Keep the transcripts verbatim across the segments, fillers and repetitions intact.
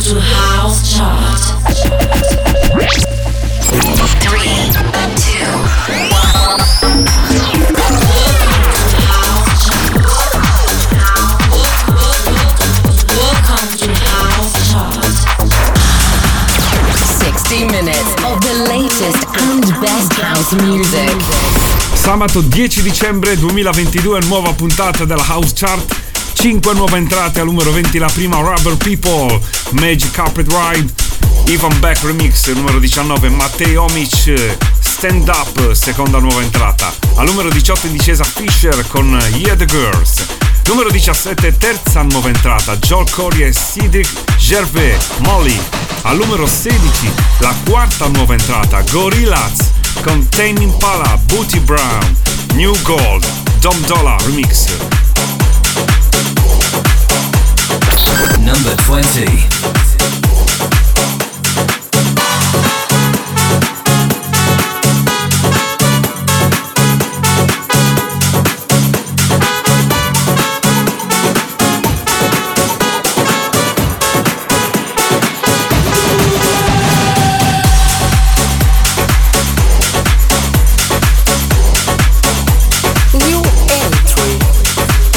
to House Chart. Three, two, one. Welcome to House Chart. sixty minutes of the latest and best house music. Sabato dieci dicembre duemilaventidue, nuova puntata della House Chart. cinque nuove entrate, al numero venti la prima Rubber People, Magic Carpet Ride, Ivan Beck Remix, numero diciannove Matteo Omic, Stand Up, seconda nuova entrata. Al numero diciotto in discesa Fisher con Yeah the Girls. Numero diciassette, terza nuova entrata, Joel Corey e Cedric Gervais, Molly. Al numero sedici, la quarta nuova entrata, Gorillaz con Tame Impala, Booty Brown, New Gold, Dom Dollar Remix. Number twenty. New entry.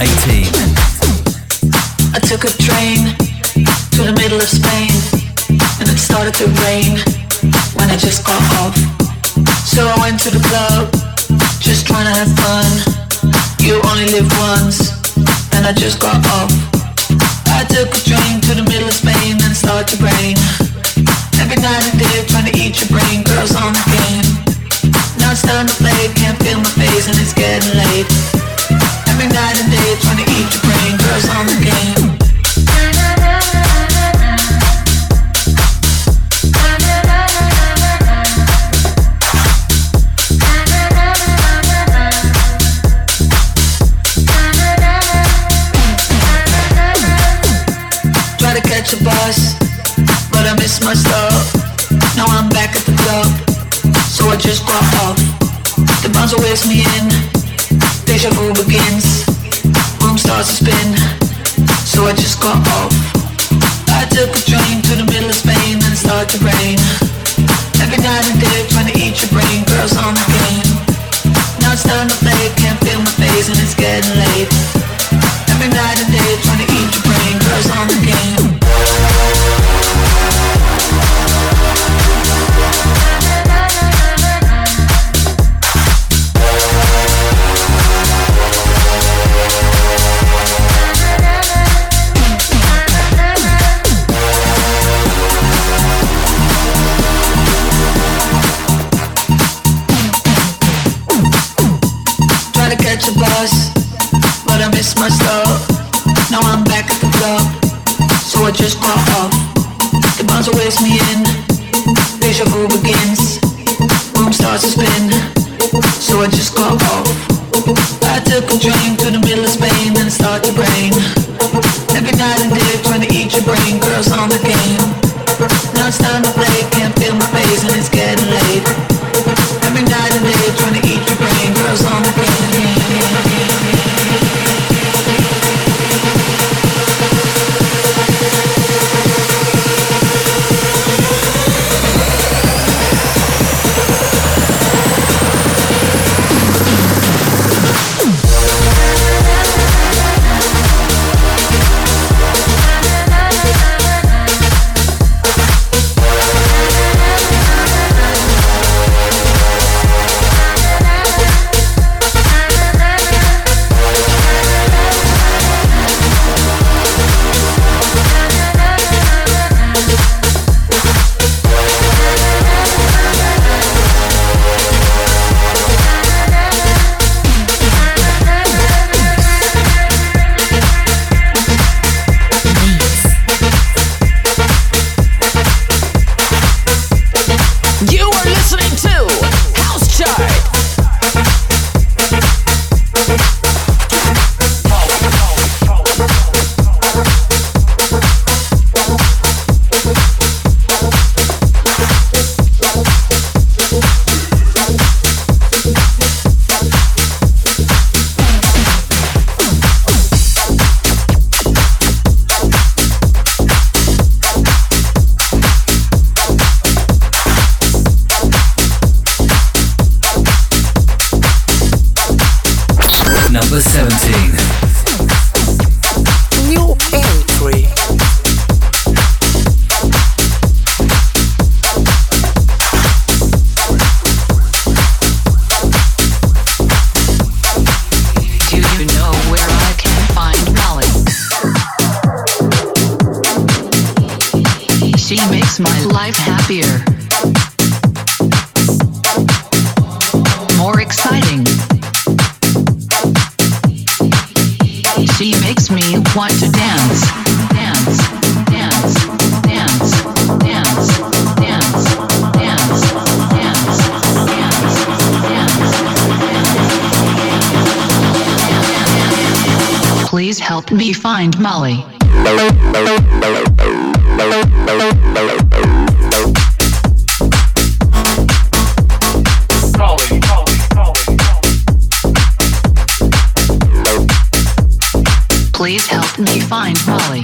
eighteen. I took a train to the middle of Spain, and it started to rain when I just got off. So I went to the club, just trying to have fun. You only live once, and I just got off. I took a train to the middle of Spain, and it started to rain. Every night and day trying to eat your brain, girls on the game. Now it's time to play, can't feel my face and it's getting late. Every night and day trying to eat your brain, girls on the game. Try to catch a bus, but I missed my stop. Now I'm back at the club, so I just got off. The bouncer wears me in, deja vu begins. Room starts to spin, so I just got off. I took a train to the middle of Spain and it started to rain. Every night and day trying to eat your brain, girls on the game. Now it's time to play, can't feel my face and it's getting late. Every night and day trying to eat your brain, girls on the game. Catch a bus, but I missed my stop. Now I'm back at the club, so I just got off. The bouncer wears me in, deja vu begins. Room starts to spin, so I just got off. I took a train to the middle of Spain and it started to rain. Every night and day trying to eat your brain, girls on the game. Now it's time to play, can't feel my face and it's getting late. Every night and day trying to eat your brain, girls on the game. Please help me find Molly. Please help me find Molly.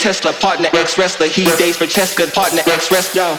Tesla, partner ex-wrestler. He dates for Cheska, partner ex-wrestler.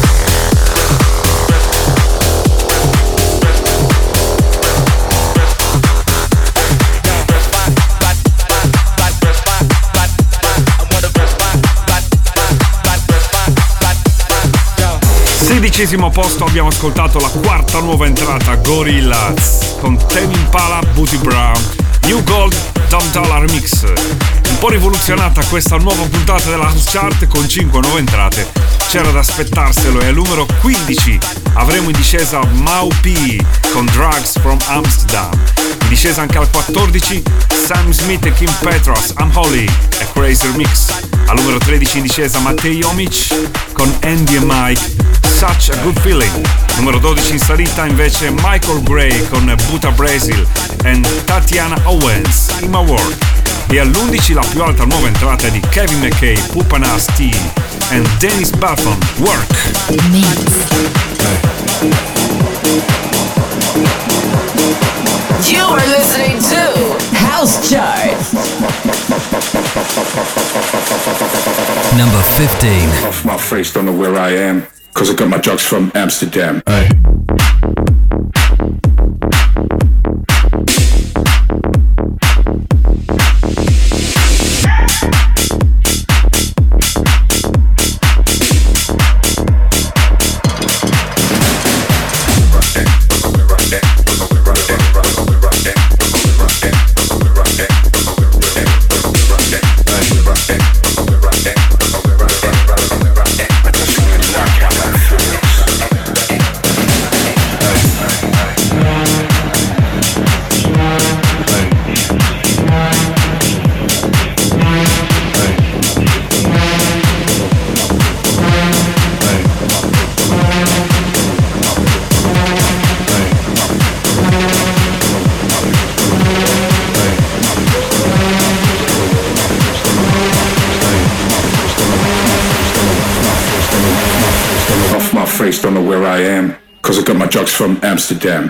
Sedicesimo posto abbiamo ascoltato la quarta nuova entrata, Gorillaz, con Tame Impala, Booty Brown, New Gold, Dom Dollar Remix. Un po' rivoluzionata questa nuova puntata della House Chart con cinque nuove entrate. C'era da aspettarselo e al numero quindici avremo in discesa Mau P con Drugs from Amsterdam. In discesa anche al quattordici Sam Smith e Kim Petras, I'm Holy e Crazy Remix. Al numero tredici in discesa Matej Omic con Andy e Mike, Such a Good Feeling. Numero dodici in salita invece Michael Gray con Buta Brazil e Tatiana Owens, In My World. E all'undici la più alta nuova entrata di Kevin McKay, Pupa Nasty e Dennis Buffon, Work. You are listening to House Chart. Number fifteen. Off my face, don't know where I am, cause I got my drugs from Amsterdam. Hey. Don't know where I am, cause I got my drugs from Amsterdam.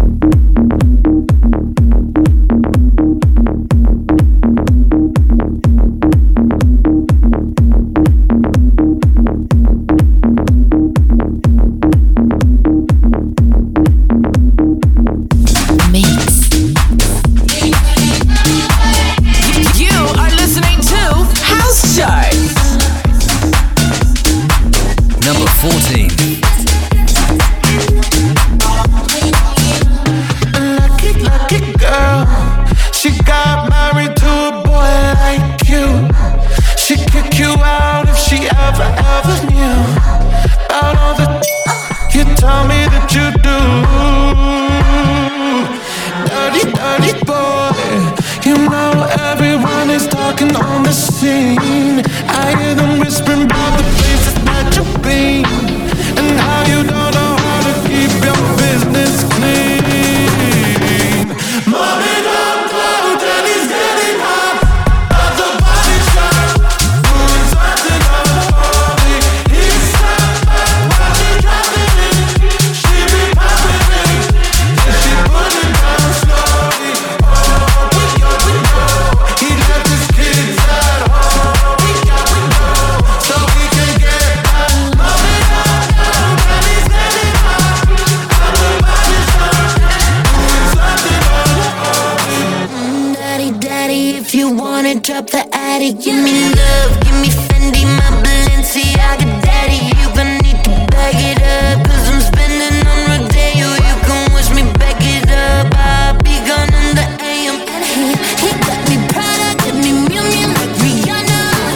Drop the attic, give me love, give me Fendi, my Balenciaga daddy. You gon' need to bag it up, cause I'm spending on Rodeo. You can wish me back it up, I'll be gone in the A M. And he, he got me Prada, got me Miu Miu like Rihanna.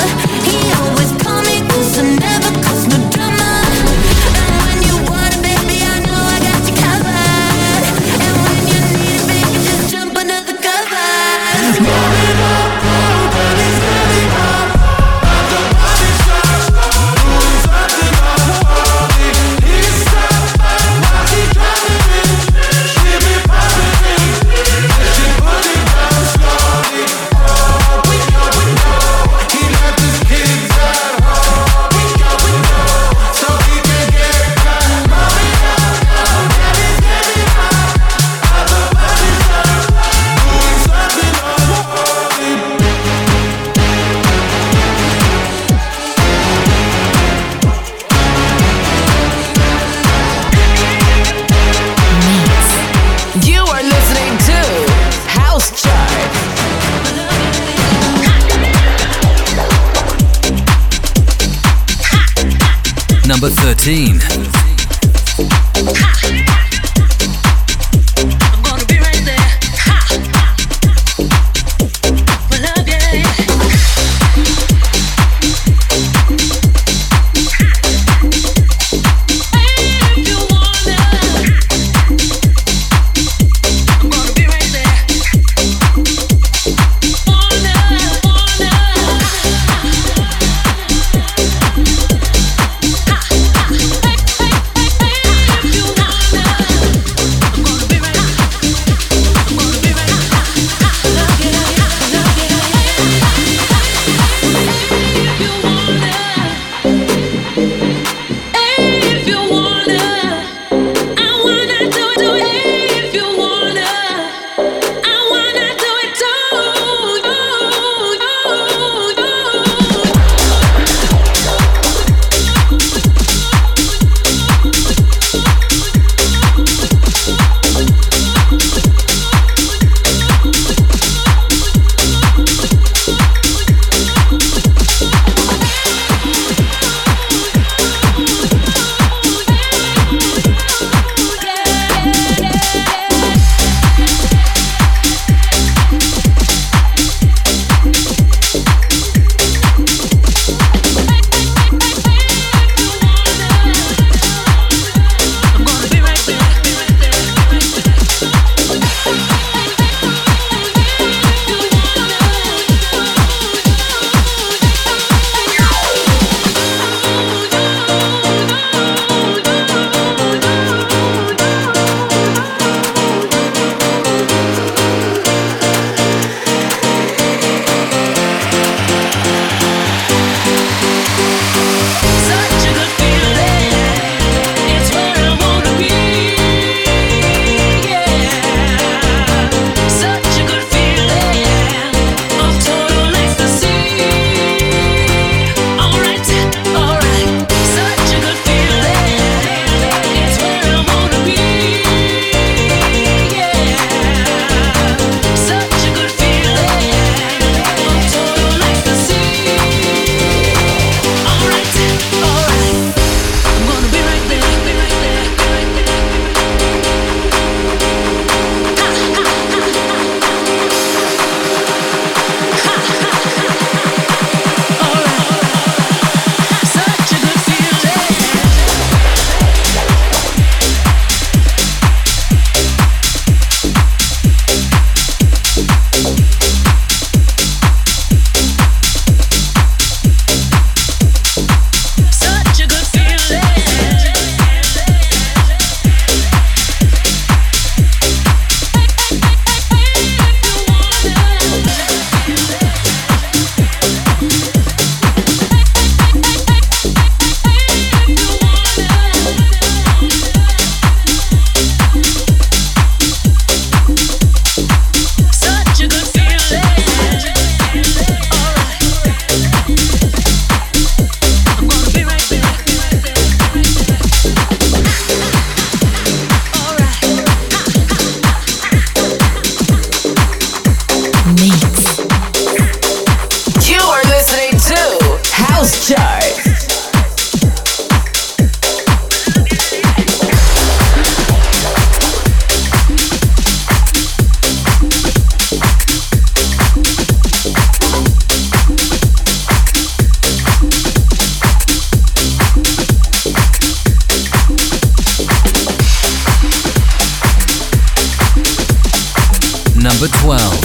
He always call me cause I never cause no drama. And when you want it, baby, I know I got you covered. And when you need it, baby, just jump under the covers. Number thirteen. Number twelve.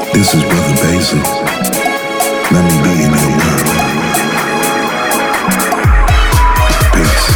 This is Brother Basil. Let me be in your world. Peace.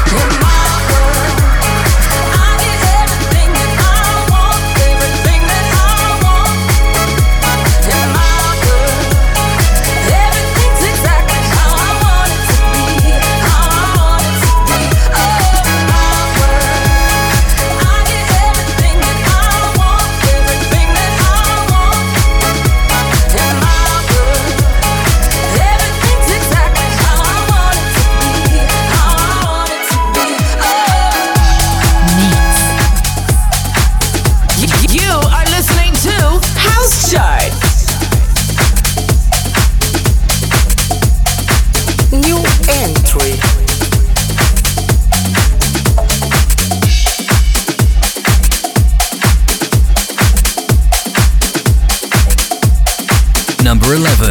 Number eleven.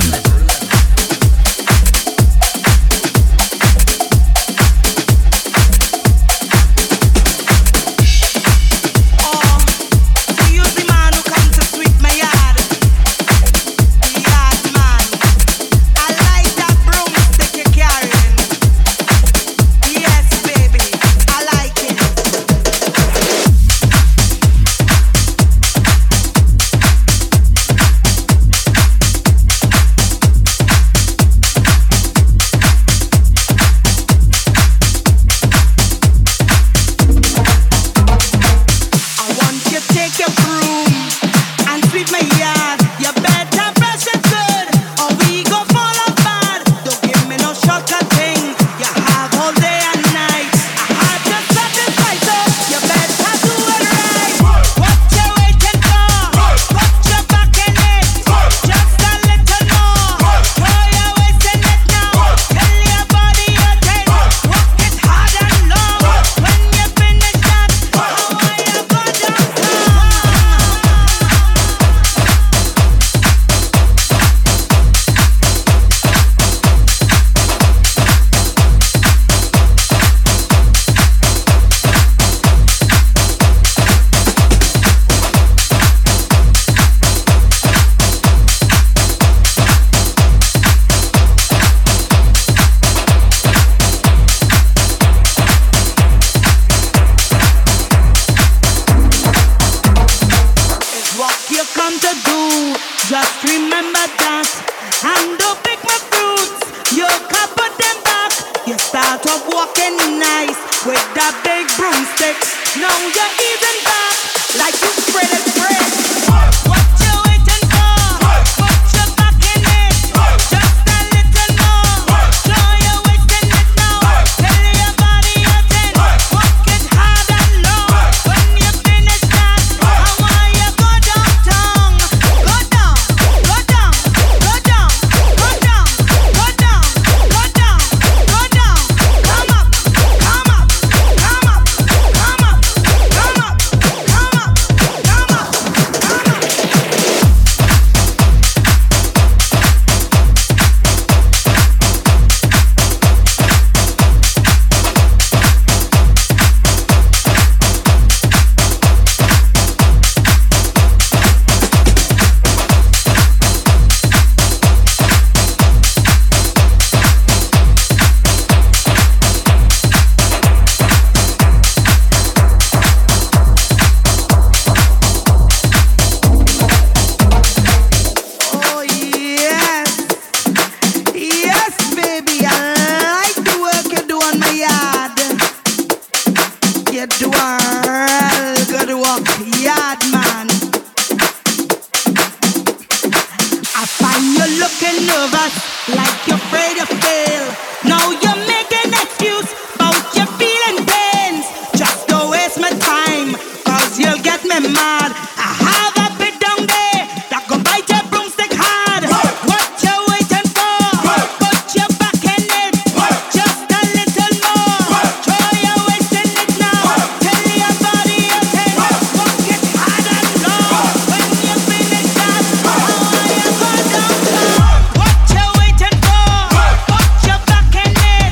What you waiting for? Put your back in it.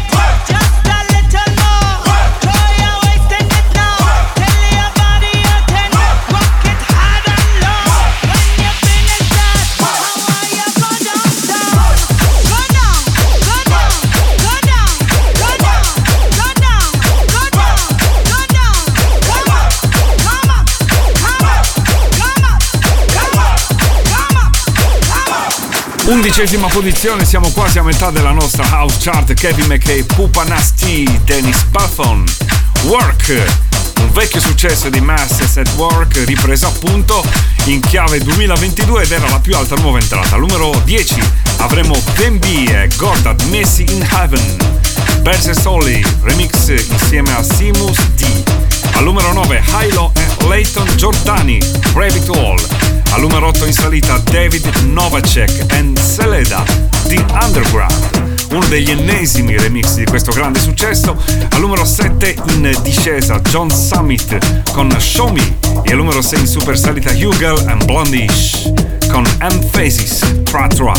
Undicesima posizione, siamo quasi a metà della nostra house chart. Kevin McKay, Pupa Nasty, Dennis Buffon, Work, un vecchio successo di Masses at Work, ripreso appunto in chiave duemilaventidue ed era la più alta nuova entrata. Al numero dieci avremo Ben B e Gordad, Messi in Heaven, Berse Solly, remix insieme a Simus D. Al numero nove Hilo e Leighton Giordani, Brave It All. Al numero otto in salita David Novacek and Seleda, The Underground, uno degli ennesimi remix di questo grande successo. Al numero sette in discesa John Summit con Show Me e al numero sei in super salita Hugel and Blondish con Emphasis Tra Tra.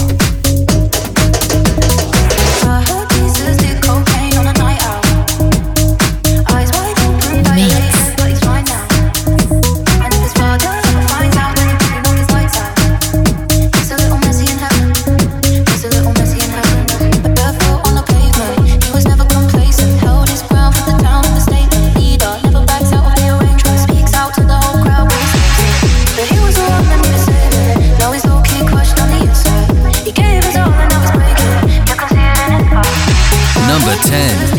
Number ten.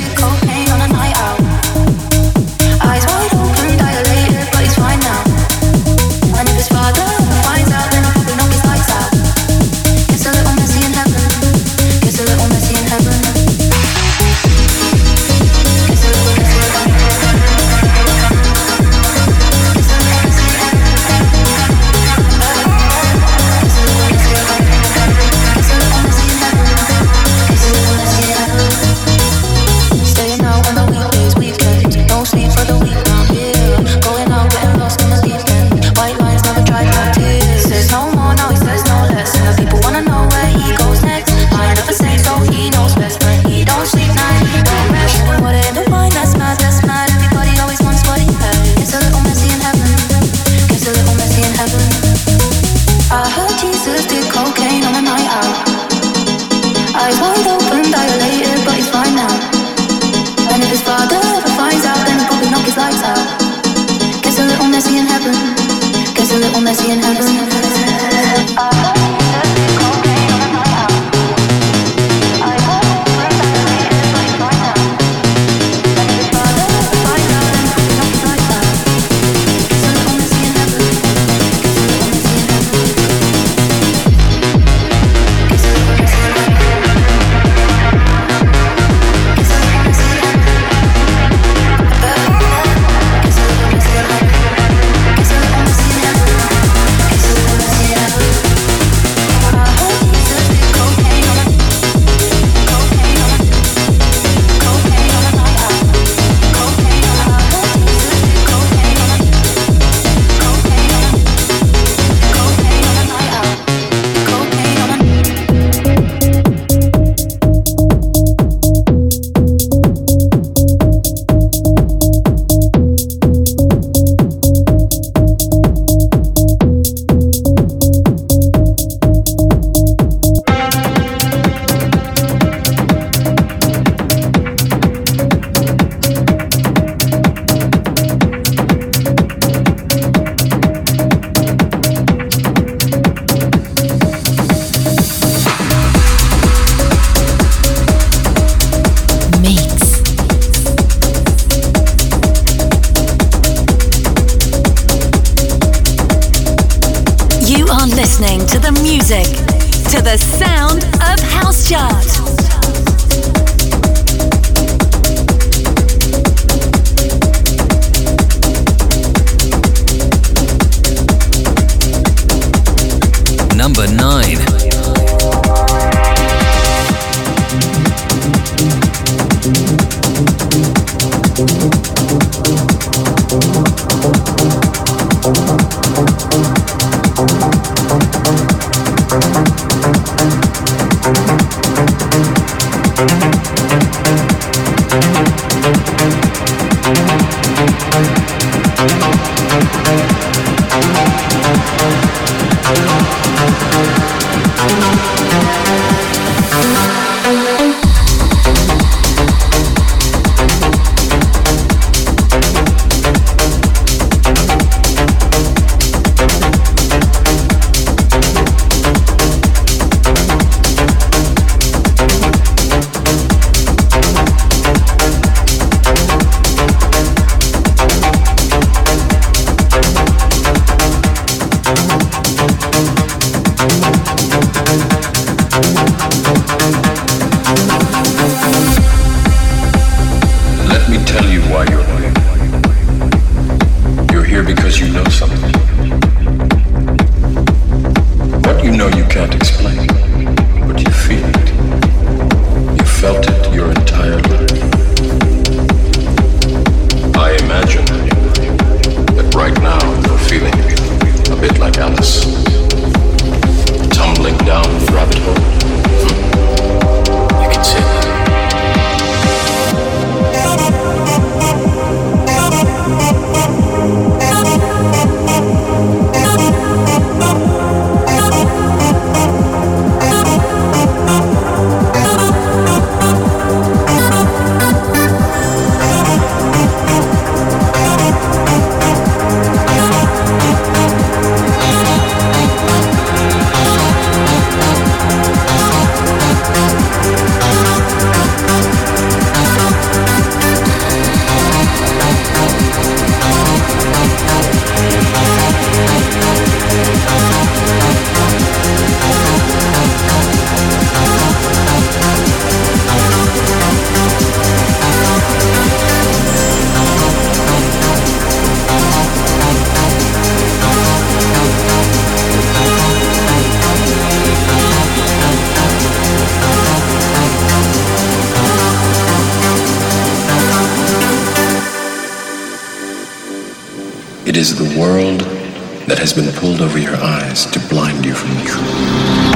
Listening to the music, to the sound of House Chart. Number nine. know you can't explain, but you feel it. You felt it your entire life. I imagine that right now you're feeling a bit like Alice, tumbling down the rabbit hole. You can say that. It is the world that has been pulled over your eyes to blind you from the truth.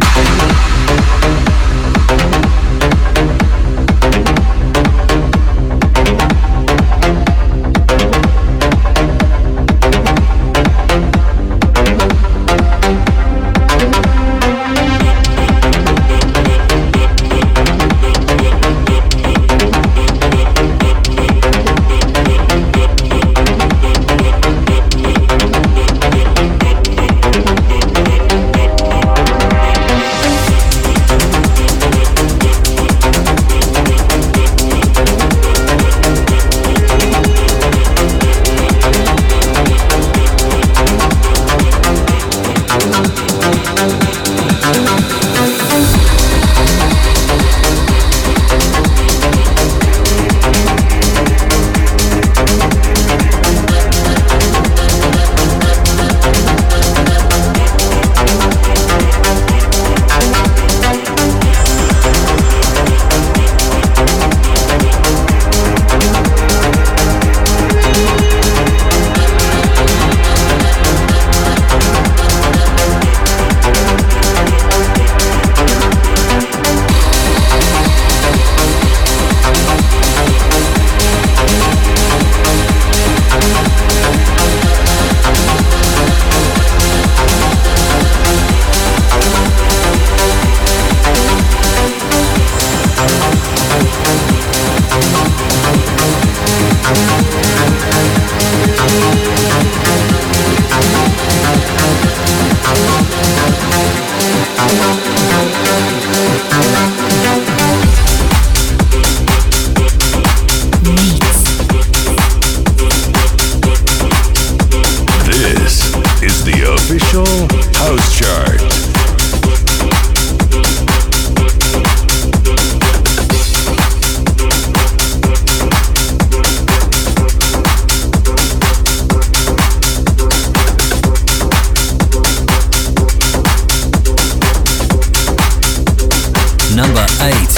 Number eight.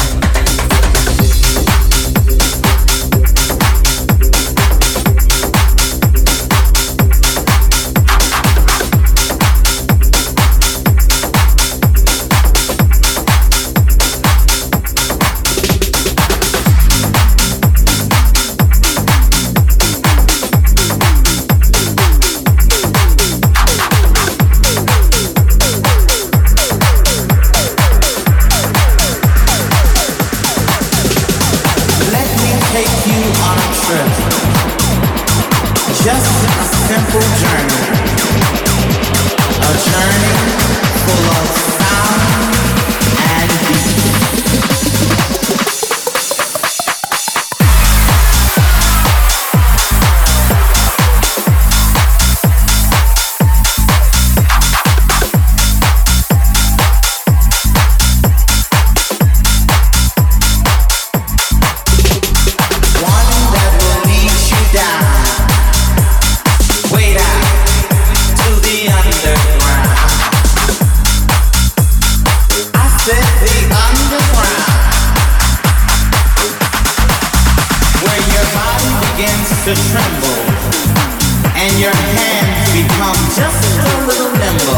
to tremble, and your hands become just a little nimble.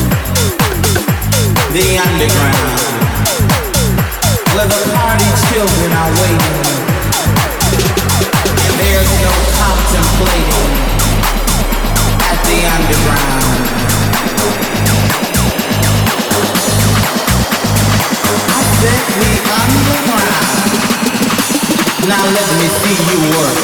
The underground, where the party children are waiting, and there's no contemplating at the underground. I said the underground. Now let me see you work.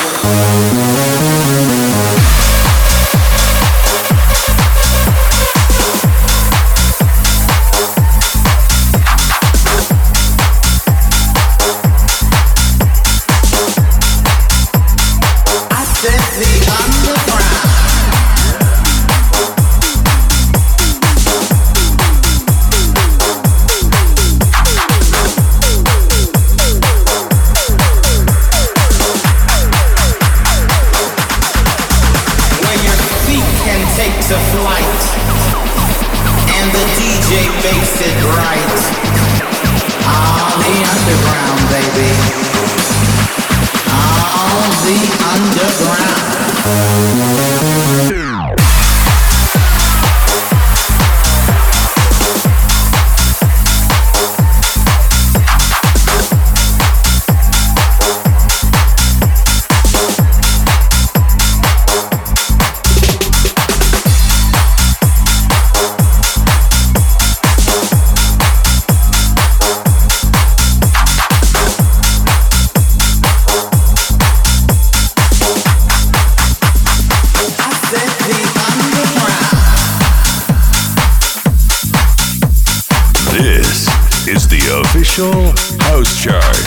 House Chart.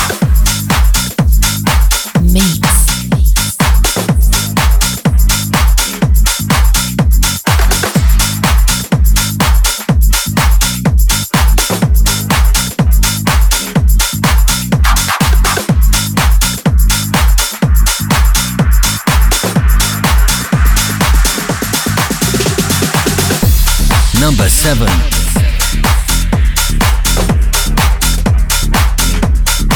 Number seven.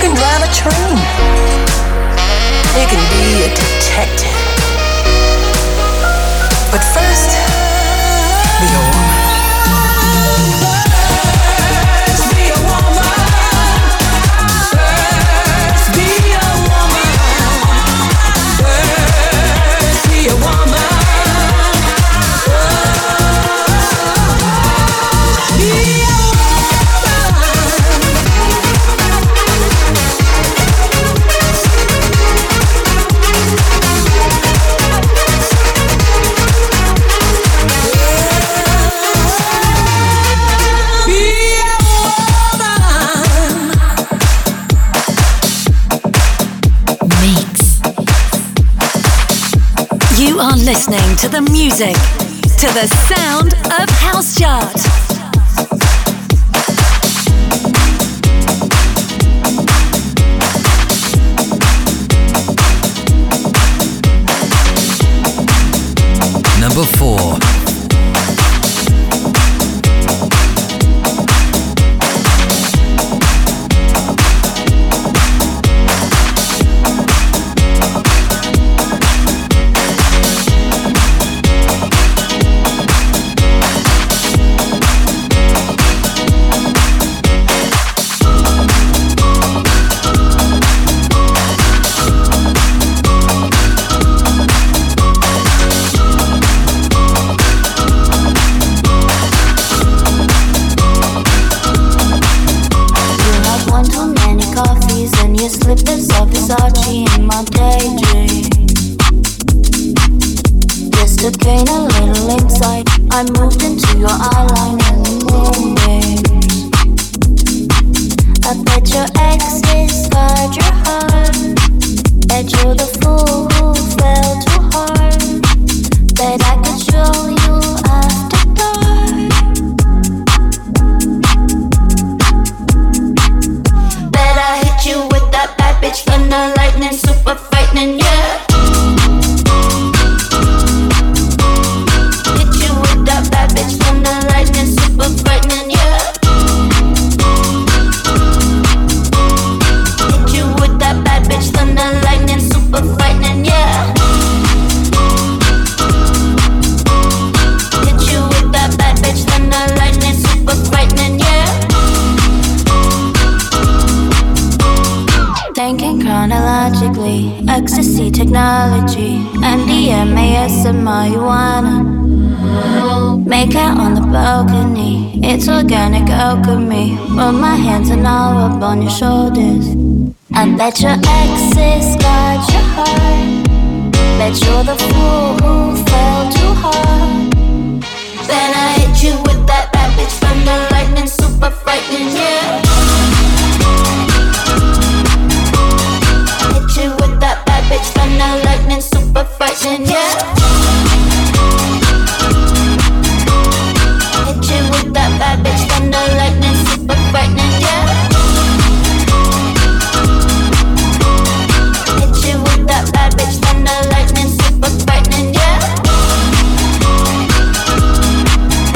can drive a train. You can be a detective. But first, be a woman. First, be a woman. First, be a woman. First, be a woman. You are listening to the music, to the sound of House Chart. Number four. I moved into your eyeline in the moonbeams. I bet your exes scarred your heart. Bet you're the fool who fell too hard. Bet I could show you after dark. Bet I hit you with that bad bitch thunder lightning, super frightening, yeah. Chronologically, ecstasy technology, M D M A S and marijuana. Make out on the balcony, it's organic alchemy. Rub my hands and I'll rub on your shoulders. I bet your exes got your heart. Bet you're the fool who fell too hard. Then I hit you with that bad bitch thunder lightning, super frightening, yeah. With that bad bitch thunder lightning, super frightening, yeah. Hit you with that bad bitch thunder lightning, super frightening, yeah. Hit you with that bad bitch thunder lightning, super frightening, yeah.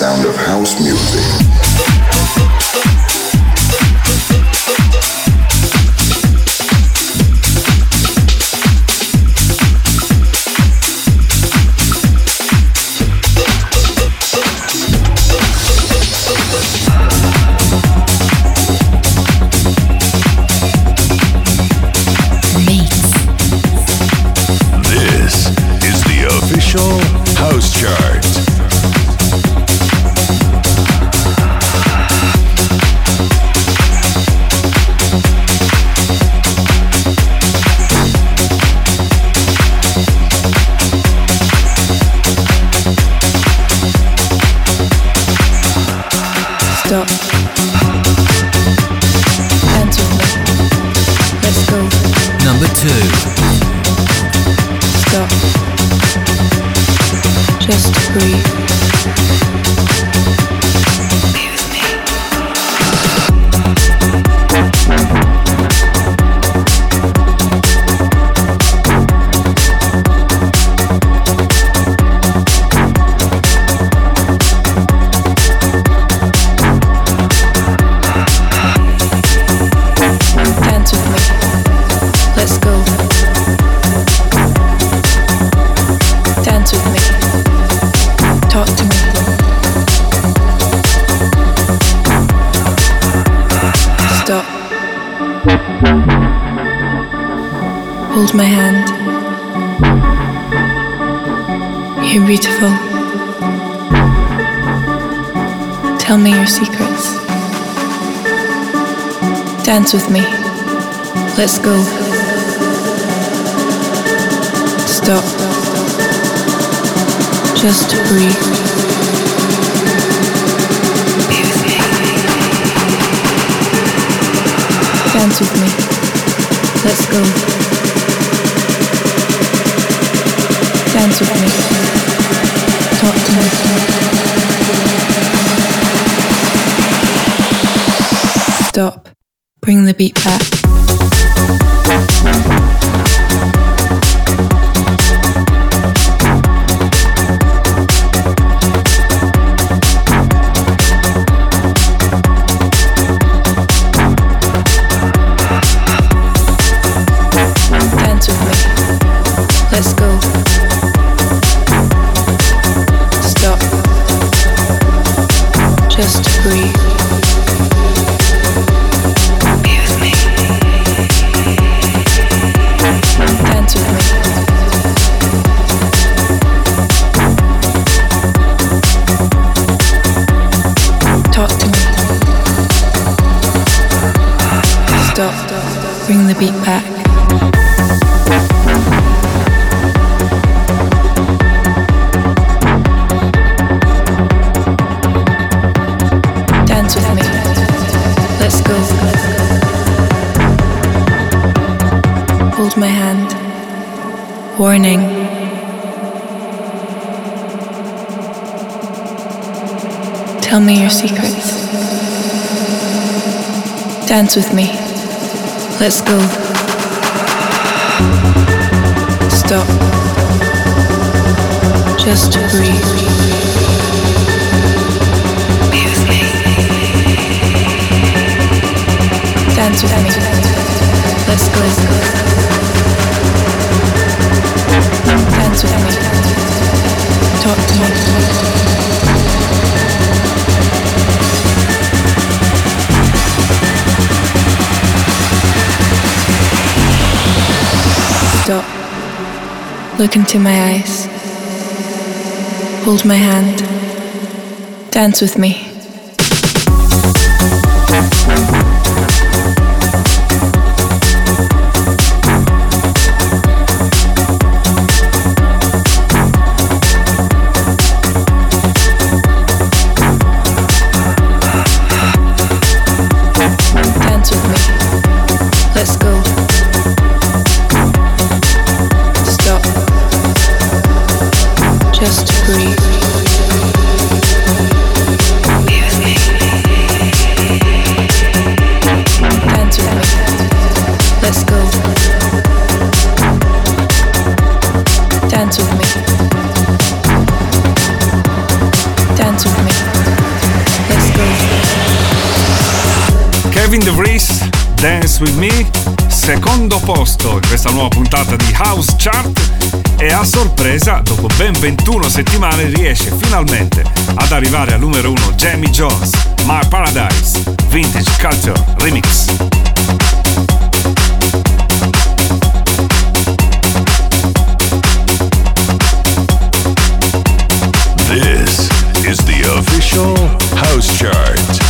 sound of house music. House Chart. Stop. Dance with me. Let's go. Number two. Stop. Just breathe. Be with me. Dance with me. Let's go. Dance with me. Talk to me. Stop. Hold my hand. You're beautiful. Tell me your secrets. Dance with me. Let's go. Stop. Just breathe. Be with me. Dance with me. Let's go. Dance with me. Talk to me. Stop. Bring the beat back. Let's go. Stop. Just breathe. Be with me. Dance with me. Talk to me. Stop. Bring the beat back. Dance with me. Let's go. Hold my hand. Warning. Tell me your secrets. Dance with me. Let's go. Stop. Just breathe. Be with me. Dance with me. Let's go. Dance with me. Talk to me. Stop. Look into my eyes. Hold my hand. Dance with me. Dance with me. Let's go. Stop. Just breathe. Be with me. Dance with me. Let's go. Dance with me. Dance with me. Kevin DeVries, Dance With Me, secondo posto in questa nuova puntata di House Chart, e a sorpresa, dopo ben ventuno settimane, riesce finalmente ad arrivare al numero uno Jamie Jones, My Paradise, Vintage Culture Remix. This is the official House Chart.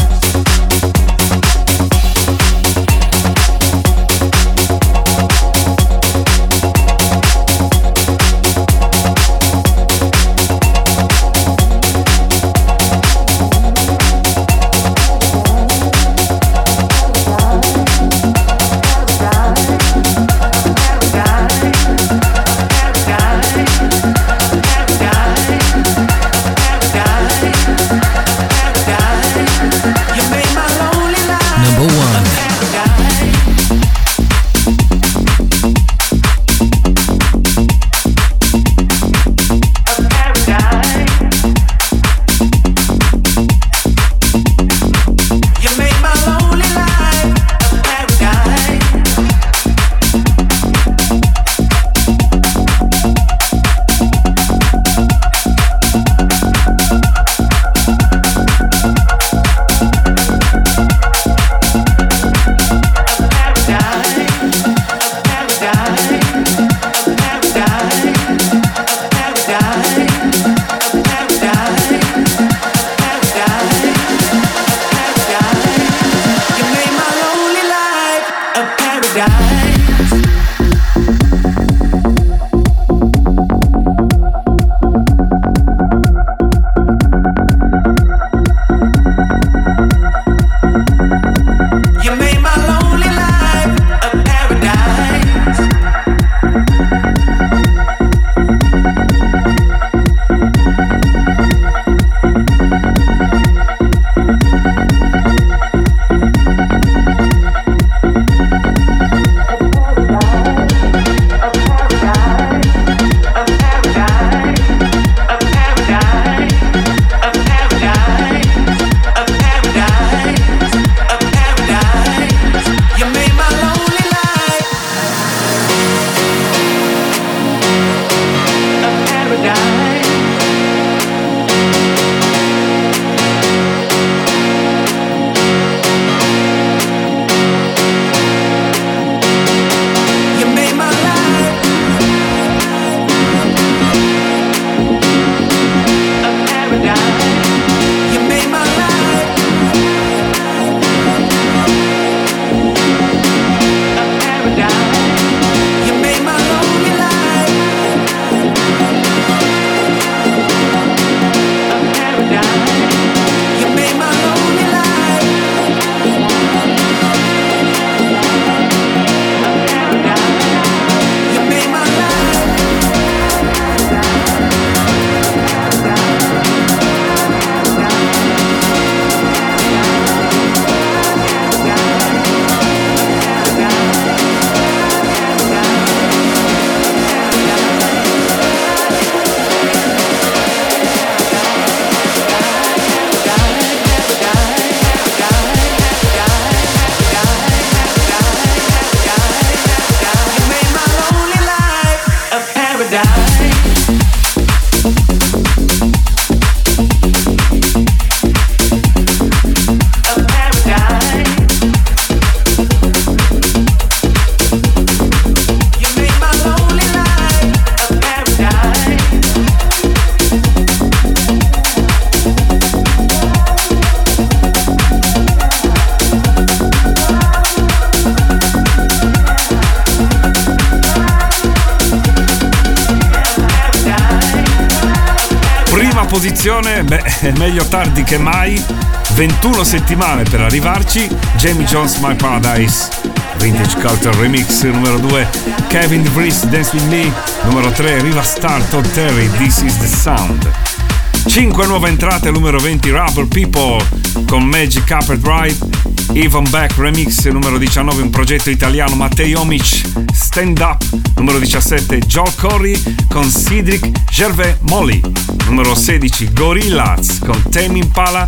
Posizione, beh, è meglio tardi che mai. ventuno settimane per arrivarci. Jamie Jones, My Paradise, Vintage Culture Remix. Numero due Kevin DeVries, Dance With Me. Numero tre Riva Star, Todd Terry, This Is The Sound. cinque nuove entrate al numero venti Rubber People con Magic Carpet Ride. Ivan Beck Remix. Numero diciannove un progetto italiano, Matej Omic, Stand Up. Numero diciassette Joel Corey con Cedric Gervais Molly. Numero sedici Gorillaz con Tame Impala,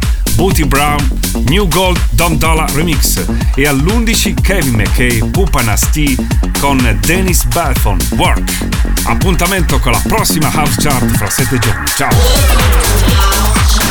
Booty Brown, New Gold Dom Dollar Remix, e all'undici Kevin McKay, Pupa Nasty con Dennis Belfon, Work. Appuntamento con la prossima House Chart fra sette giorni. Ciao!